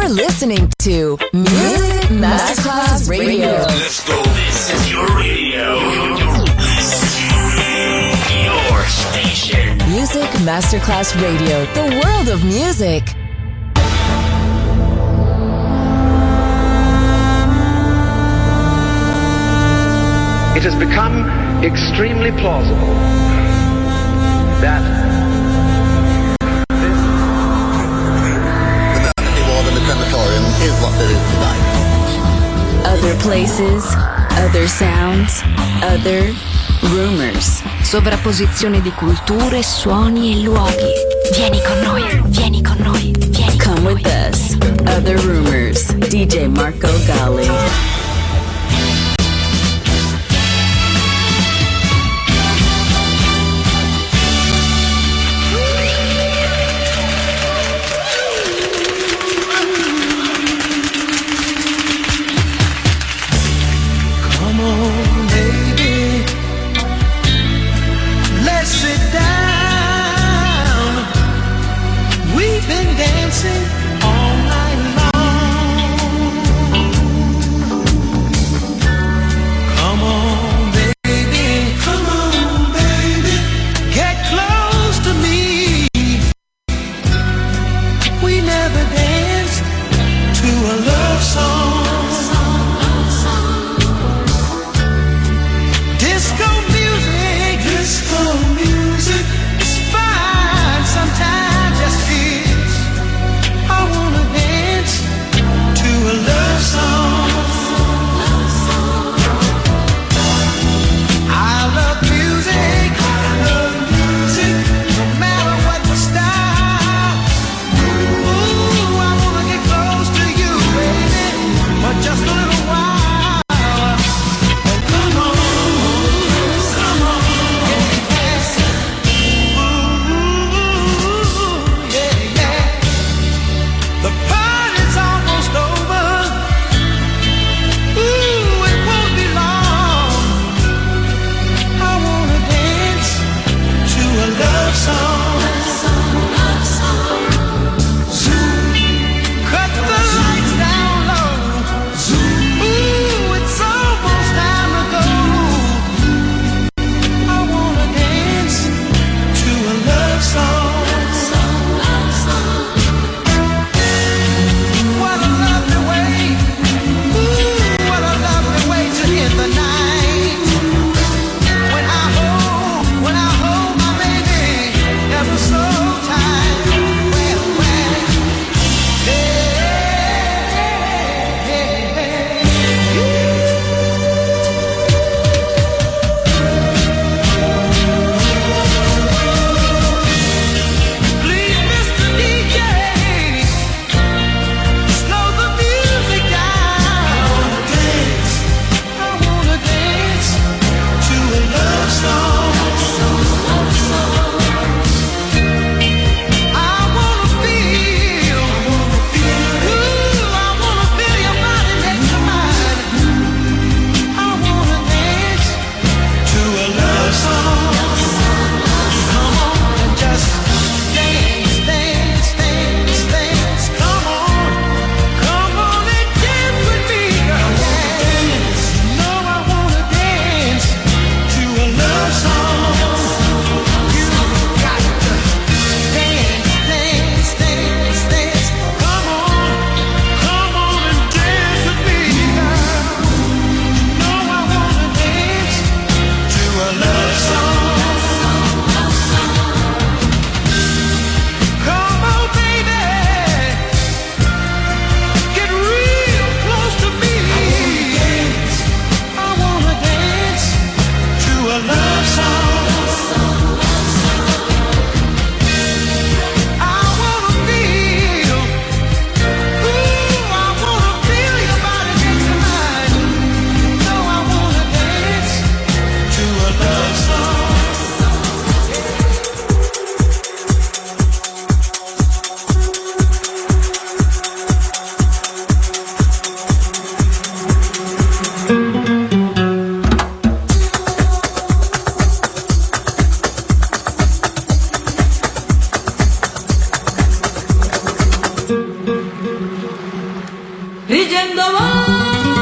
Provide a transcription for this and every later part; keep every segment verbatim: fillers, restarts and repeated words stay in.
You're listening to Music Masterclass Radio. Let's go. This is your radio. Your station. Music Masterclass Radio. The world of music. It has become extremely plausible that this the Berkeley Ward and the crematorium is what there is tonight. Other places, other sounds, other rumors. Sovrapposizione di culture, suoni e luoghi. Vieni con noi, vieni con noi, vieni con noi. Come with us. Other Rumors. D J Marco Gally. huyendo voy.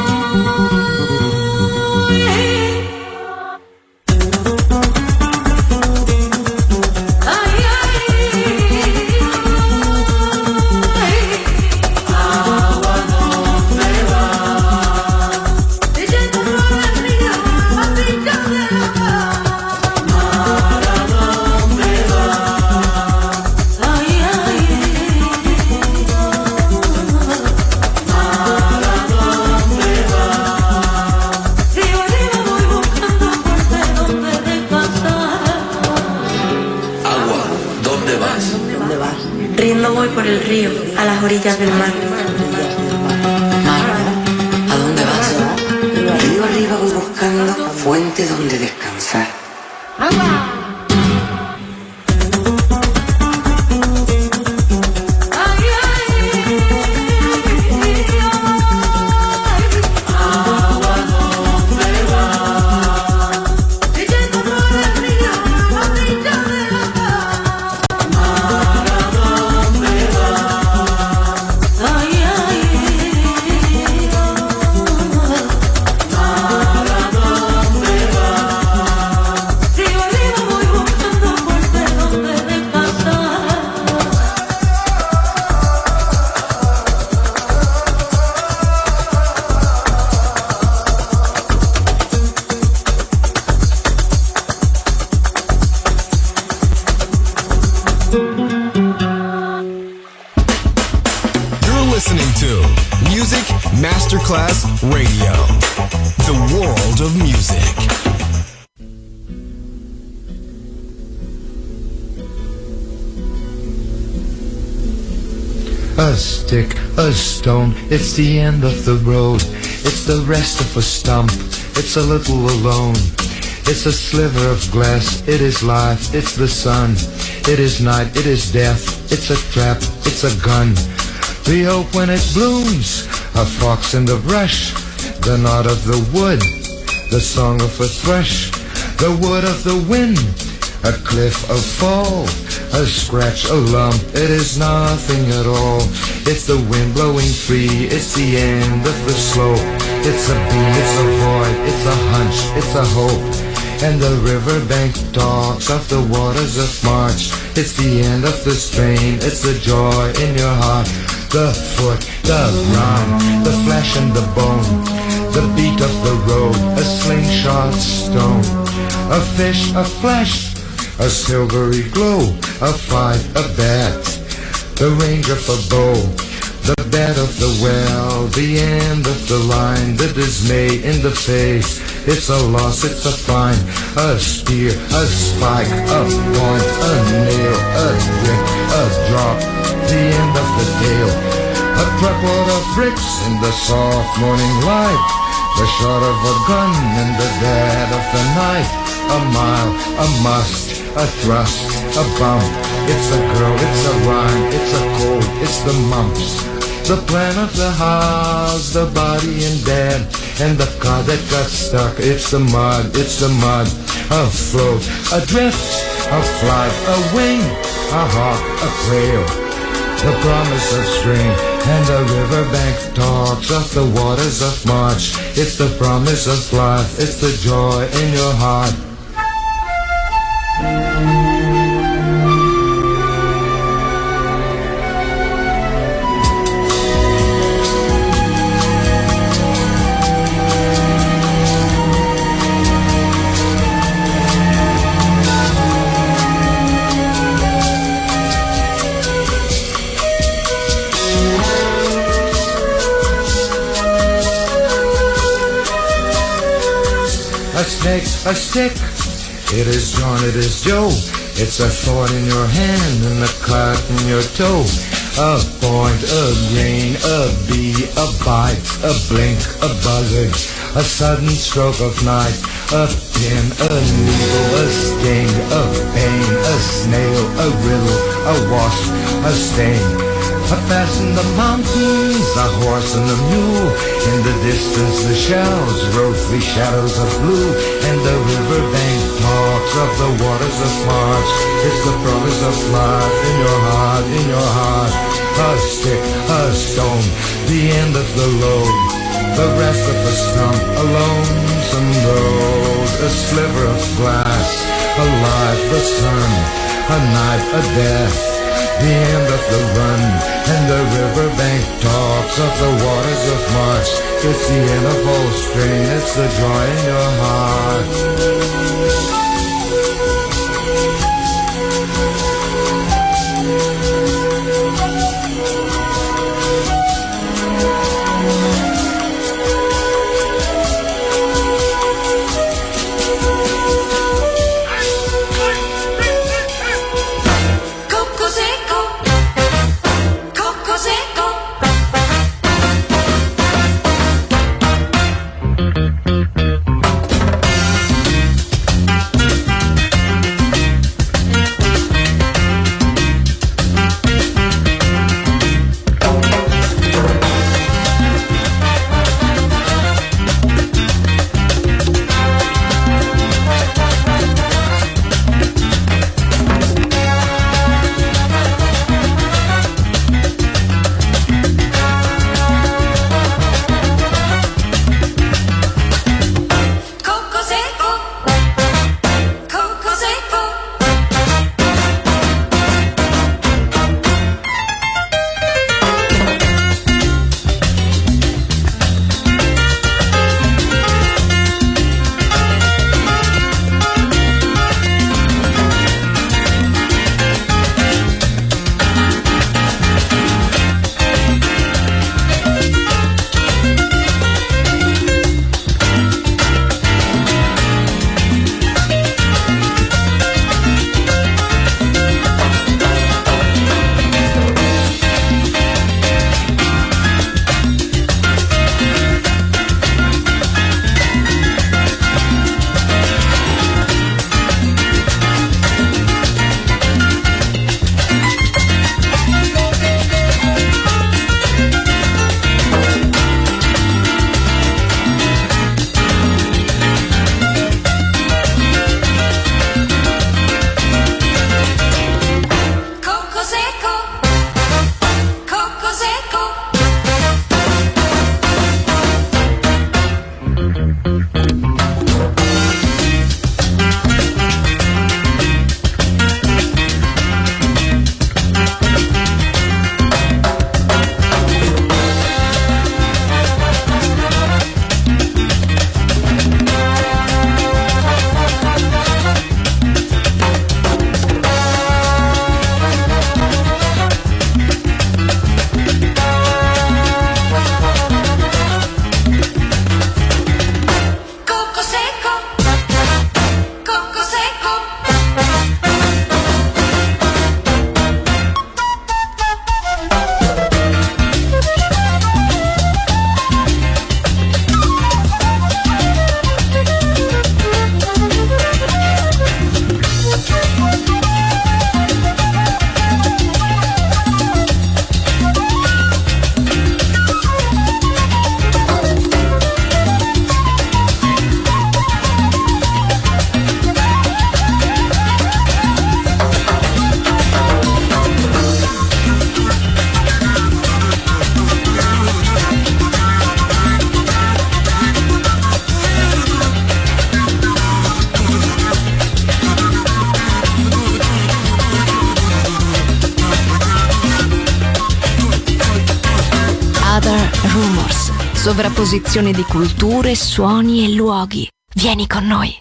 Por el río, a las orillas del mar. Mar, ¿a dónde vas? Río arriba voy buscando fuente donde descansar. ¡Agua! Masterclass Radio, the world of music. A stick, a stone, it's the end of the road. It's the rest of a stump, it's a little alone. It's a sliver of glass, it is life, it's the sun. It is night, it is death, it's a trap, it's a gun. We hope when it blooms, a fox in the brush, the nod of the wood, the song of a thrush, the wood of the wind, a cliff, a fall, a scratch, a lump, it is nothing at all. It's the wind blowing free, it's the end of the slope. It's a beam, it's a void, it's a hunch, it's a hope. And the riverbank talks of the waters of March. It's the end of the strain, it's the joy in your heart. The foot, the run, the flesh and the bone, the beat of the road, a slingshot stone, a fish, a flesh, a silvery glow, a fight, a bat, the range of a bow, the bed of the well, the end of the line, the dismay in the face. It's a loss, it's a find, a spear, a spike, a point, a nail, a drink, a drop, the end of the tale. A truckload of bricks in the soft morning light, the shot of a gun in the dead of the night. A mile, a must, a thrust, a bump. It's a girl, it's a rhyme, it's a cold, it's the mumps. The plan of the house, the body in bed, and the car that got stuck. It's the mud, it's the mud. A float, a drift, a flight, a wing, a hawk, a quail. The promise of spring, and the riverbank talks of the waters of March. It's the promise of life, it's the joy in your heart. A snake, a stick, it is John, it is Joe. It's a thorn in your hand and a cut in your toe. A point, a grain, a bee, a bite, a blink, a buzzard, a sudden stroke of night. A pin, a needle, a sting, a pain, a snail, a riddle, a wasp, a stain. A pass in the mountains, a horse and a mule. In the distance the shells rose the shadows of blue. And the riverbank talks of the waters of March. It's the promise of life in your heart, in your heart. A stick, a a stone, the end of the road, the rest of a stump, a lonesome road, a sliver of glass, a life, the sun, a night, a death, the end of the run, and the riverbank talks of the waters of March. It's the end of all strain, it's the joy in your heart. Sovrapposizione di culture, suoni e luoghi. Vieni con noi.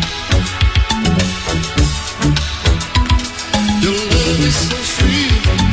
Your love is so sweet.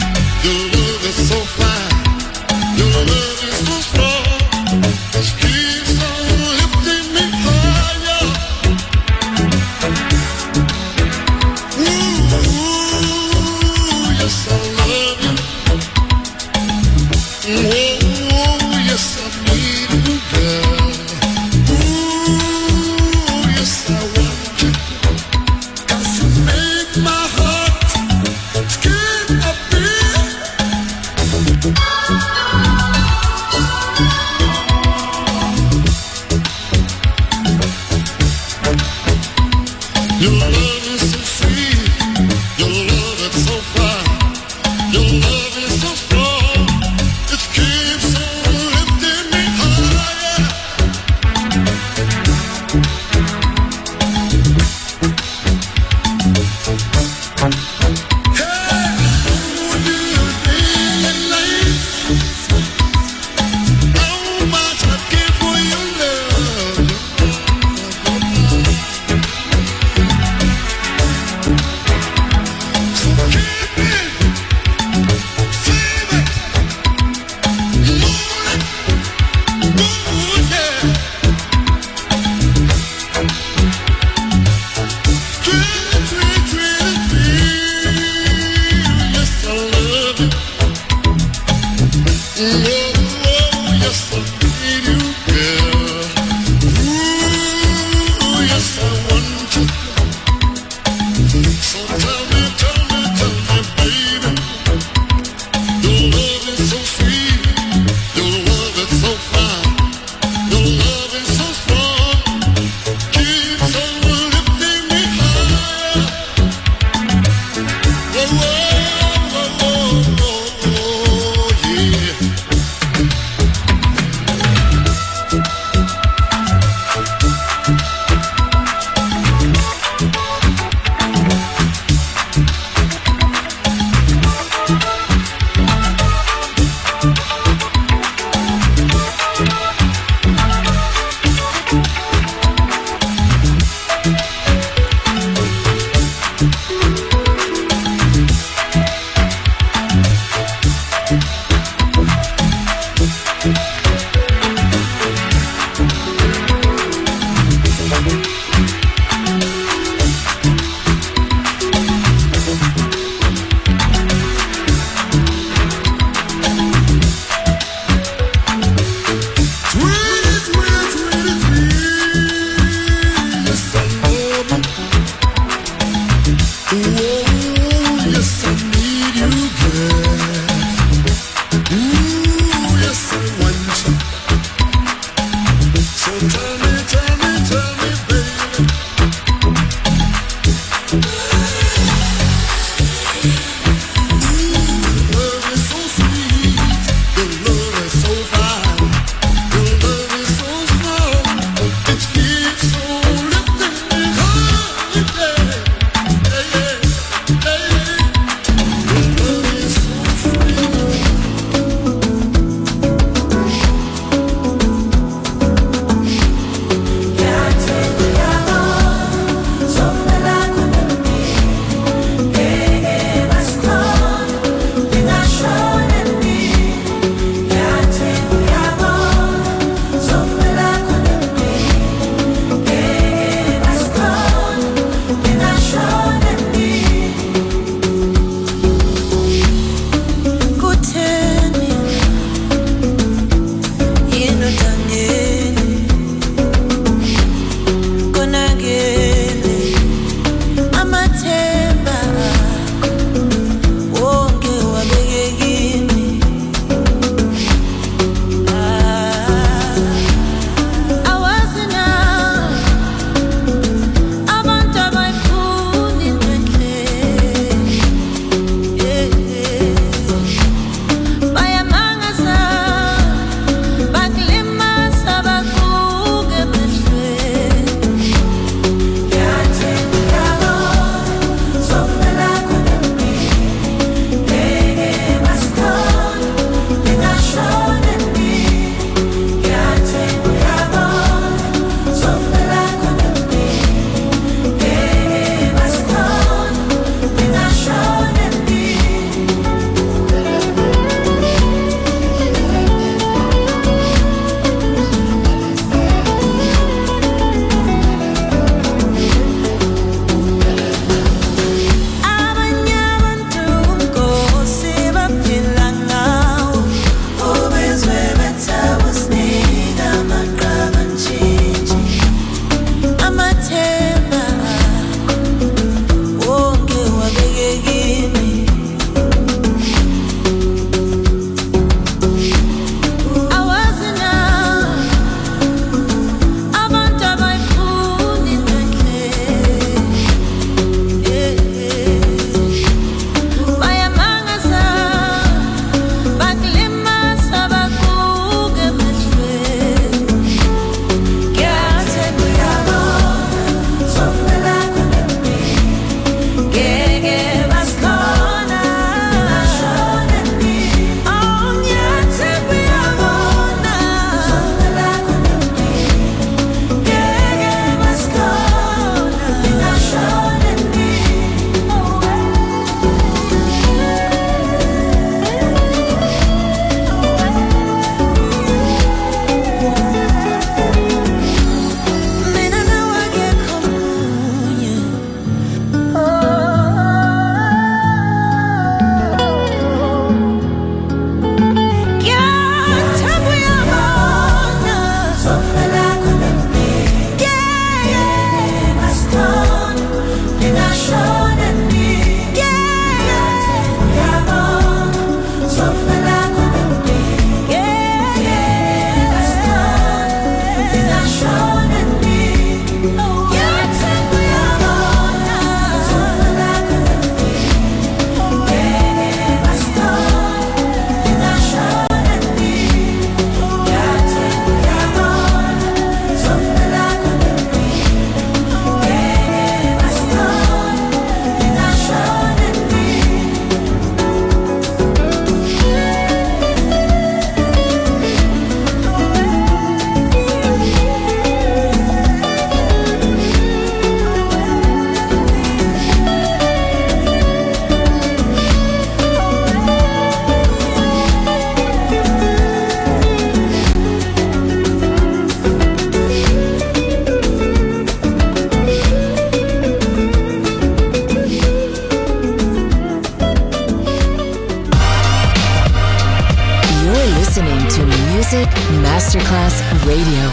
Music Masterclass Radio.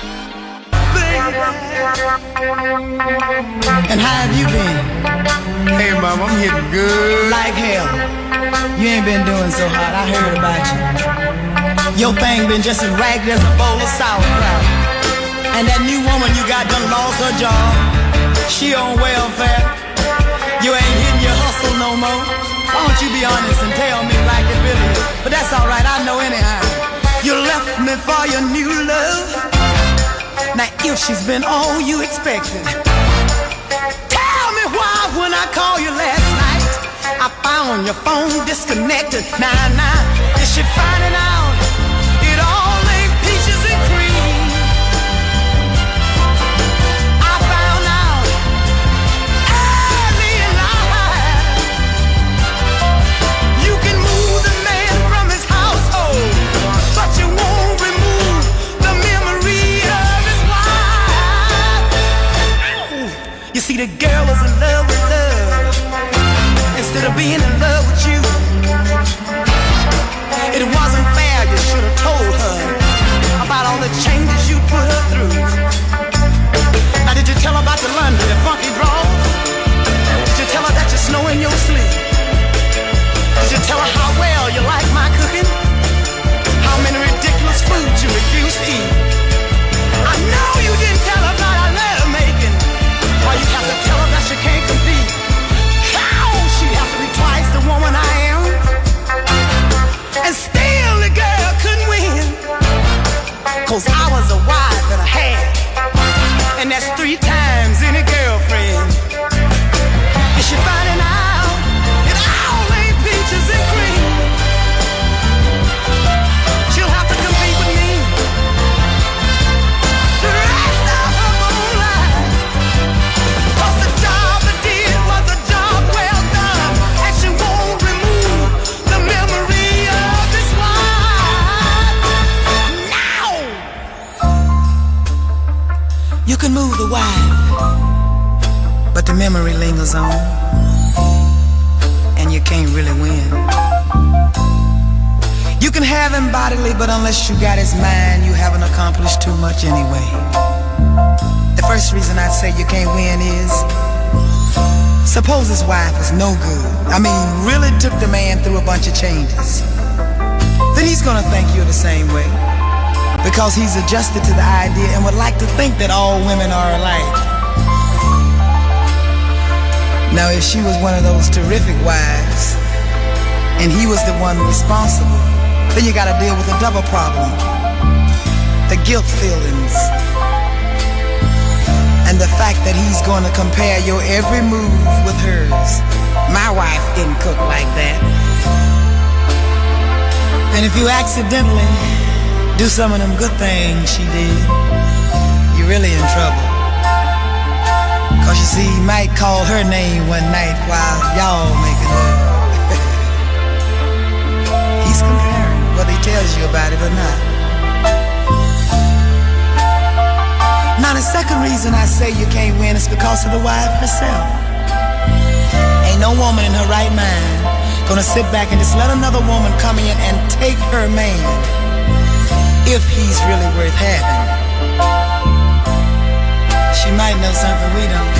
And how have you been? Hey, Mom, I'm hitting good. Like hell. You ain't been doing so hot. I heard about you. Your thing been just as ragged as a bowl of sauerkraut. And that new woman you got done lost her job. She on welfare. You ain't hitting your hustle no more. Why don't you be honest and tell me like it really is? But that's alright, I know anyhow. You left me for your new love. Now if she's been all you expected, tell me why when I called you last night I found your phone disconnected. Nah, nah, is she finding out it all ain't peaches and cream? I found out early in life you can move the man from his household, but you won't remove the memory of his wife. You see, the girl was in love with love instead of being in love with you. It wasn't fair, you should have told her about all the changes you put her through. Now did you tell her about the laundry, the funky drawers? Did you tell her that you snow in your sleep? Did you tell her how well you like my cooking? How many ridiculous foods you refuse to eat? I know you didn't tell her about our love making. Why you have to tell her that she can't compete? How she have to be twice the woman I am? And still the girl couldn't win. Cause I was a wife that I had, and that's three times any girlfriend. Is she finding out it all ain't peaches and cream? She'll have to compete with me the rest of her whole life. Cause the job I did was a job well done, and she won't remove the memory of this wife. Now you can move the wife, but the memory lingers on, and you can't really win. You can have him bodily, but unless you got his mind, you haven't accomplished too much anyway. The first reason I'd say you can't win is, suppose his wife is no good. I mean, really took the man through a bunch of changes. Then he's gonna think you're the same way, because he's adjusted to the idea and would like to think that all women are alike. Now if she was one of those terrific wives, and he was the one responsible, then you gotta deal with a double problem. The guilt feelings, and the fact that he's gonna compare your every move with hers. My wife didn't cook like that. And if you accidentally do some of them good things she did, you're really in trouble. Cause you see, he might call her name one night while y'all making love. He's comparing, whether he tells you about it or not. Now the second reason I say you can't win is because of the wife herself. Ain't no woman in her right mind gonna sit back and just let another woman come in and take her man if he's really worth having. She might know something we don't,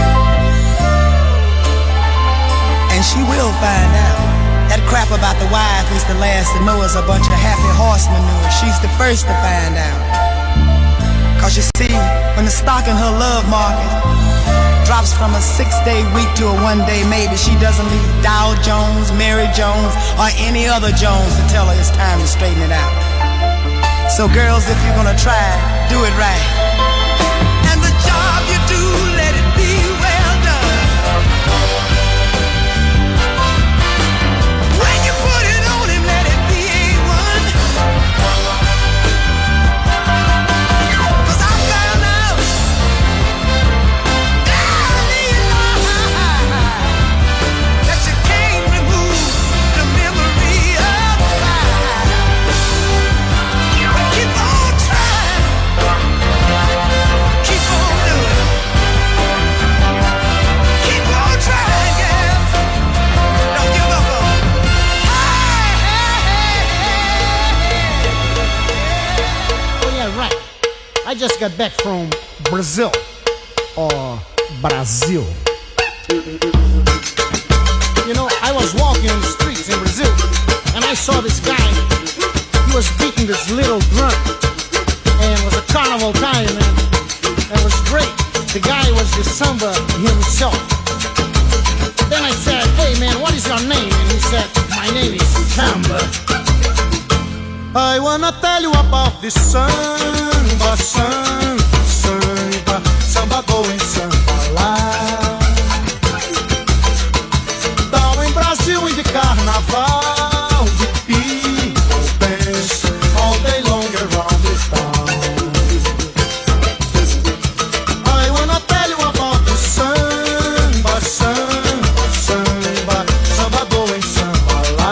and she will find out. That crap about the wife is the last to know is a bunch of happy horse manure. She's the first to find out. Cause you see, when the stock in her love market drops from a six-day week to a one-day maybe, she doesn't need Dow Jones, Mary Jones, or any other Jones to tell her it's time to straighten it out. So girls, if you're gonna try, do it right. And the job you do, let it be well done. When you put it on him, let it be A one. Cause I found out early in life that you can't remove the memory of life. But keep on trying. I just got back from Brazil, or Brazil. You know, I was walking on the streets in Brazil, and I saw this guy. He was beating this little drum, and it was a carnival time, and it was great. The guy was the samba himself. Then I said, hey man, what is your name? And he said, my name is Samba. I wanna tell you about this samba, samba, samba, samba going samba lá. Down in Brazil in the carnaval, the people dance all day long around the town. I wanna tell you about the samba, samba, samba, samba going samba lá.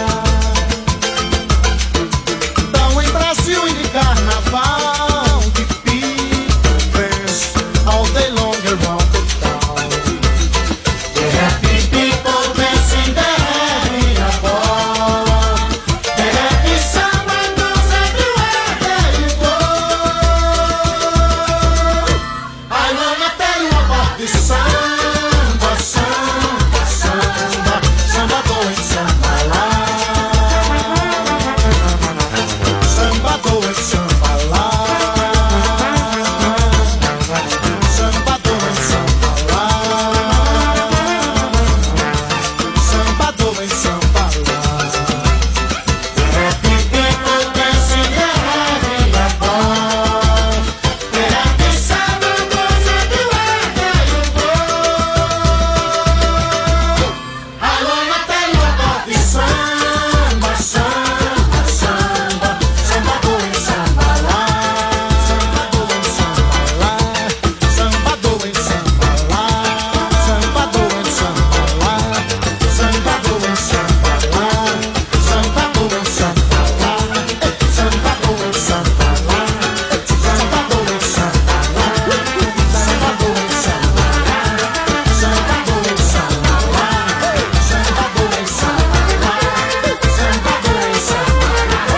Down in Brazil in the carnaval, the people dance all day long around the town. The happy people dancing, they're having a ball. The happy samba goes everywhere there you go. I wanna tell you about this samba, samba, samba, samba going samba lá. Samba going samba lá. Samba going samba lá. Samba going samba lá. The happy people dancing, they're having a ball. The happy samba goes everywhere there you go. I wanna tell you about this samba, samba, samba, samba going samba lá. Samba going samba lá. Samba going samba lá. Samba going samba lá. Samba going samba lá. Samba going samba lá. Eh, Samba going samba lá. Eh, Samba going samba lá. Samba going samba lá. Samba going samba lá. Samba going samba lá. Samba going samba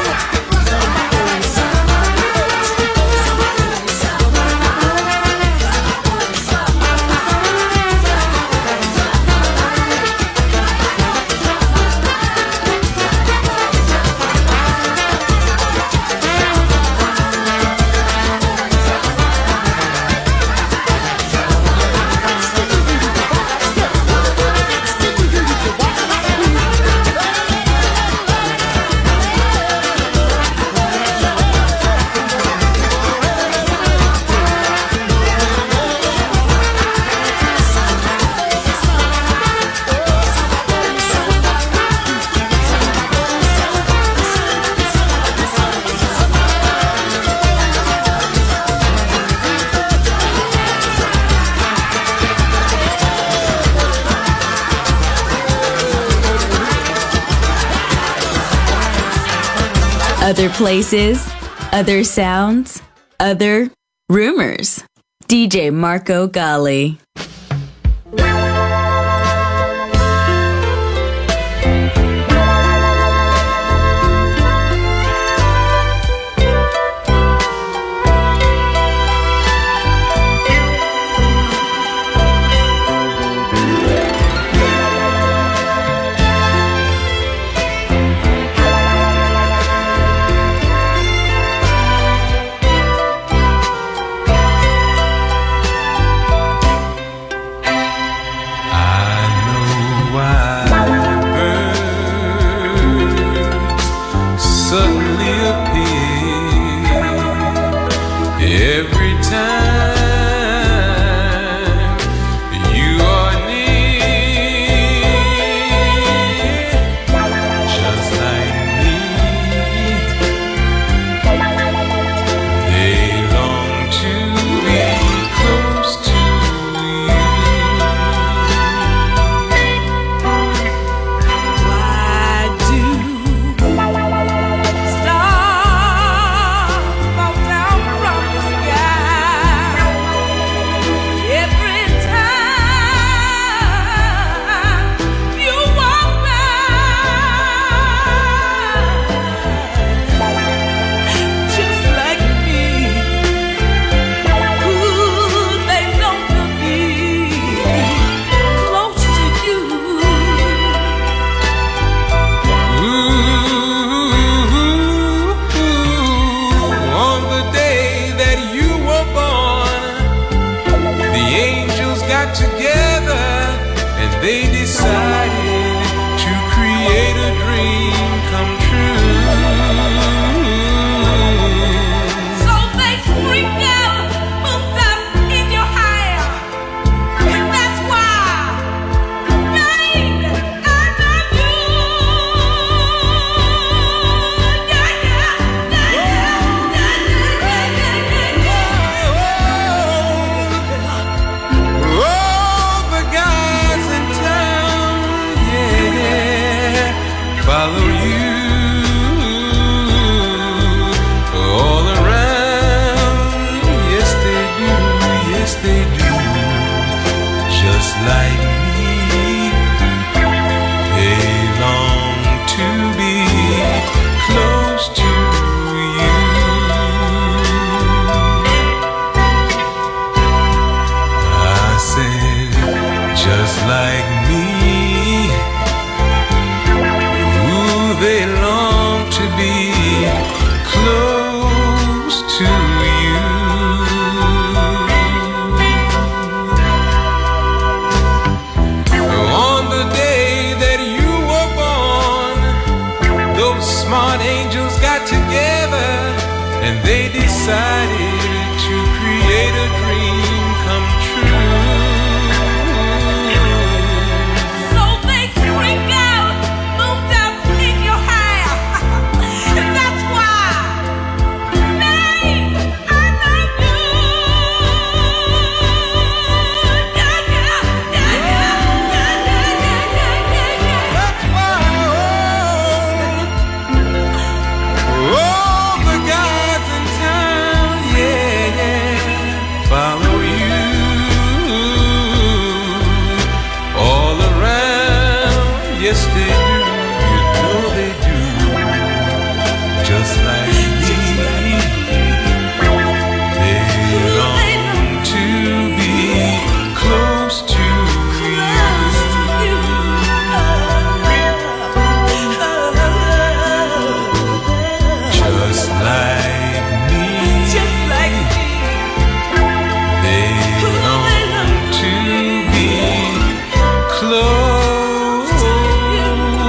Other places, other sounds, other rumors. D J Marco Gally. Stay like me. They long to be close to you. I said, just like me. Ooh, they long to be close to you. On the day that you were born, those smart angels got together and they decided to create a dream come true. So they spring out, moved up in your hair, and that's why, babe, I love you. Yeah, yeah, yeah, yeah, yeah, yeah, yeah, yeah, yeah. That's why, oh, all the guys in town, yeah, yeah, follow you. All around, yes they do, you know they do. Just like me, they long to be close to you. Just like me, Just like me. they long to be close to you.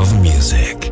of music.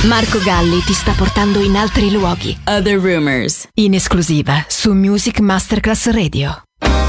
Marco Galli ti sta portando in altri luoghi. Other Rumors, in esclusiva su Music Masterclass Radio.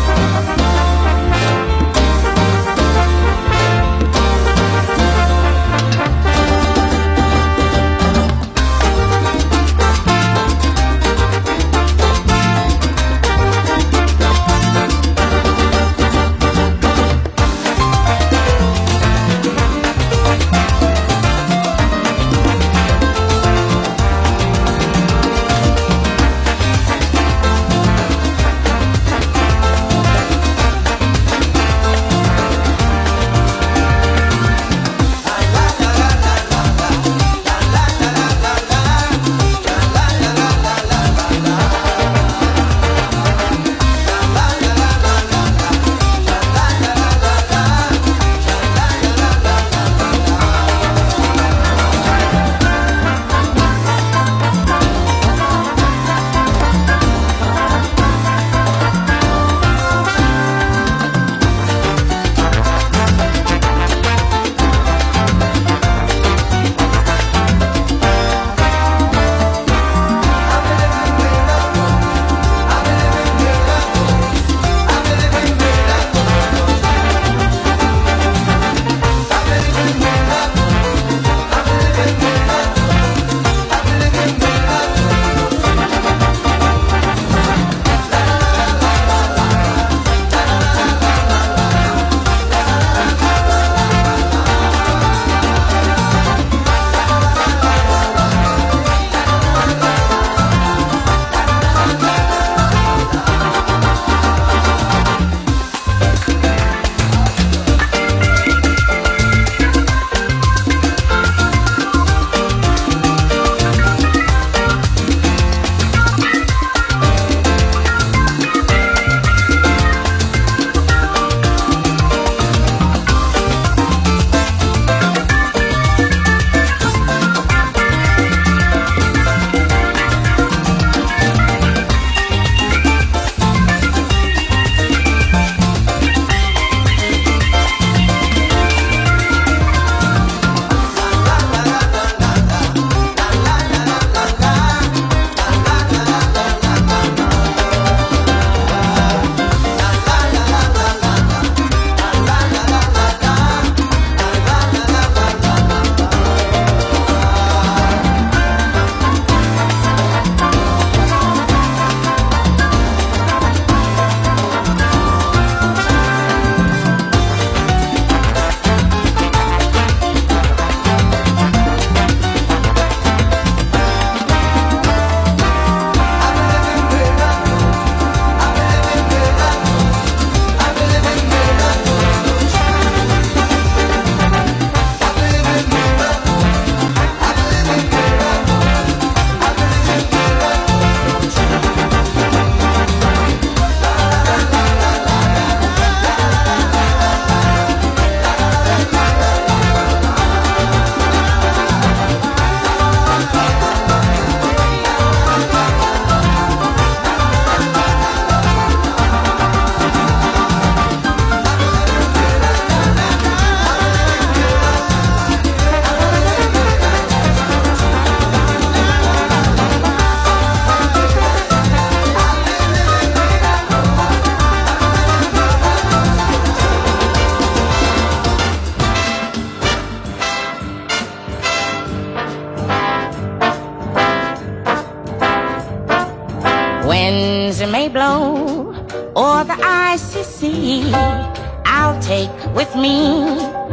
Winds may blow o'er the icy sea, I'll take with me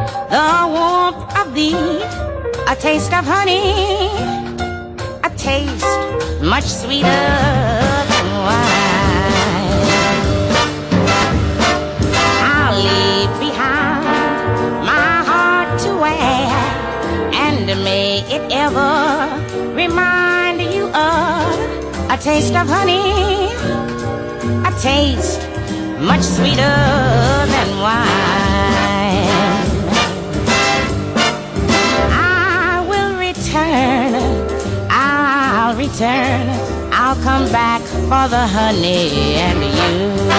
the warmth of thee, a taste of honey, a taste much sweeter than wine. I'll leave behind my heart to wear, and may it ever remind you of a taste of honey, a taste much sweeter than wine. I will return, I'll return, I'll come back for the honey and you.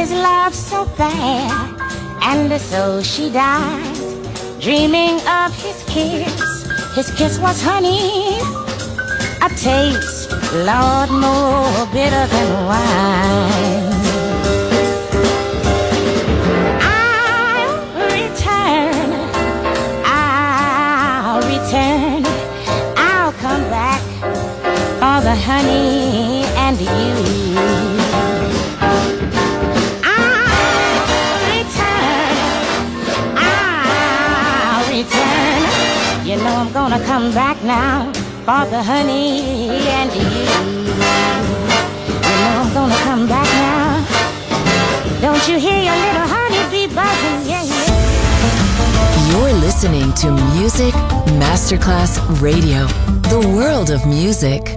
his love so bad, and so she died, dreaming of his kiss. His kiss was honey, a taste, Lord, more bitter than wine. I'll return, I'll return, I'll come back for the honey and you. You know I'm gonna come back now for the honey and you. You know I'm gonna come back now. Don't you hear your little honey bee buzzing? Yeah, yeah. You're listening to Music Masterclass Radio, the world of music.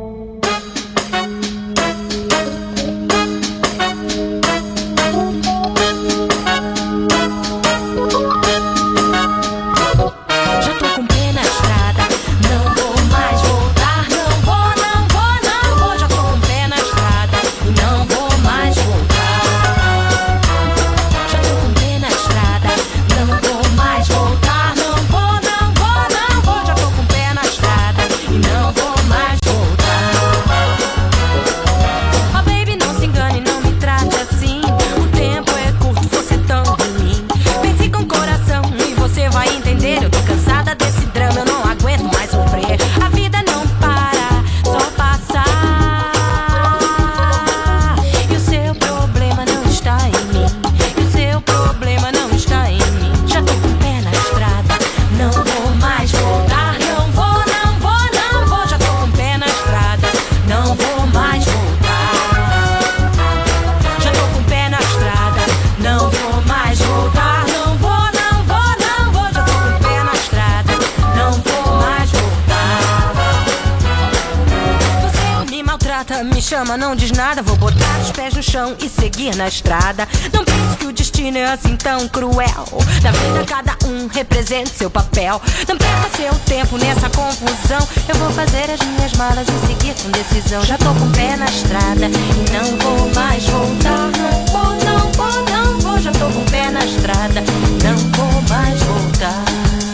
Não diz nada, vou botar os pés no chão e seguir na estrada. Não pense que o destino é assim tão cruel. Na vida cada um representa seu papel. Não perca seu tempo nessa confusão. Eu vou fazer as minhas malas e seguir com decisão. Já tô com o pé na estrada e não vou mais voltar. Não vou, não vou, não vou. Já tô com o pé na estrada, não vou mais voltar.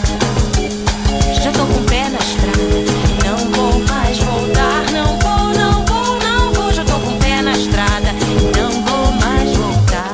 Já tô com o pé na estrada e não vou mais voltar. Não vou, não vou, não vou. Já tô com o pé na estrada e não vou mais voltar.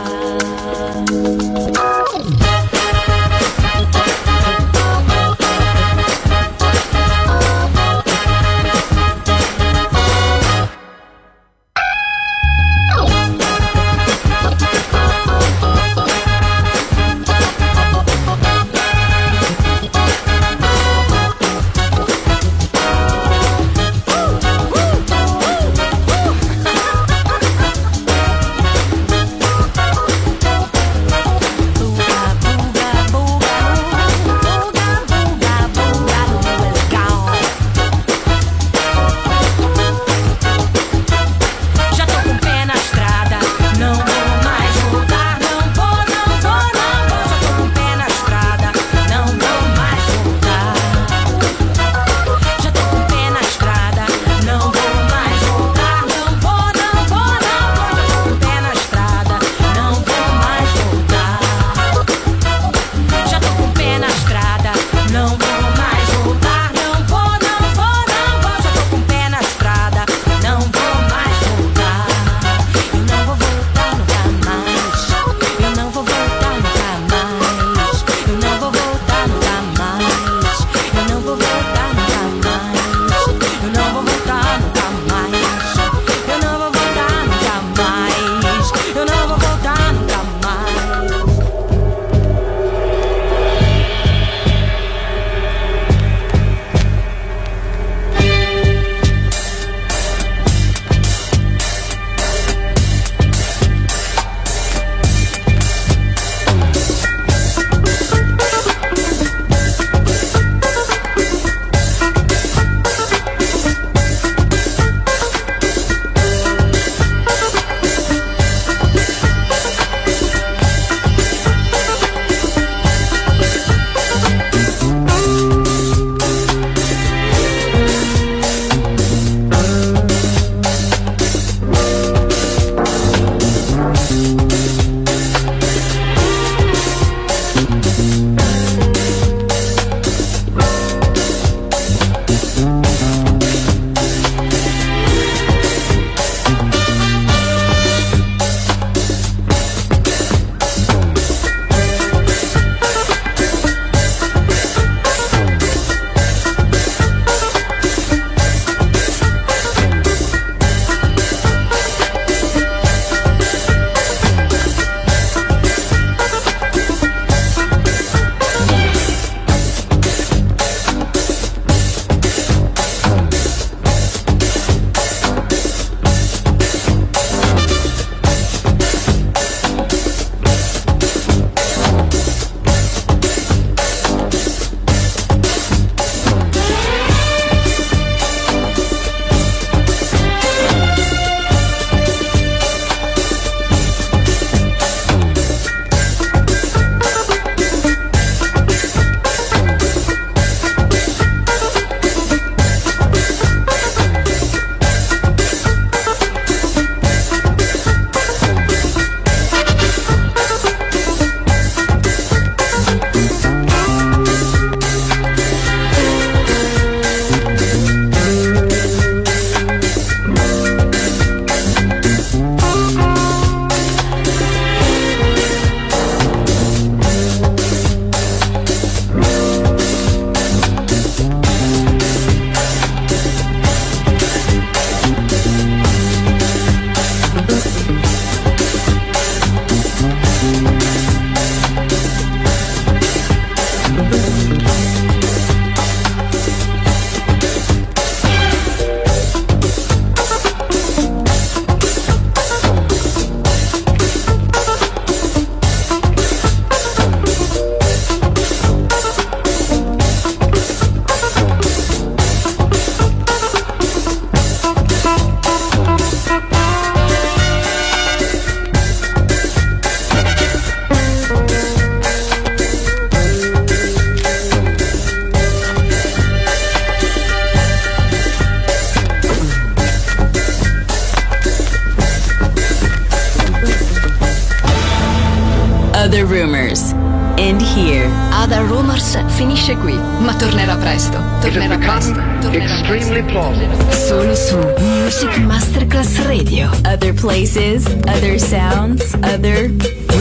Other Rumors. And here. Other Rumors finisce qui, ma tornerà presto. Tornerà presto. Tornerà presto. Solo su Music Masterclass Radio. Other places, other sounds, other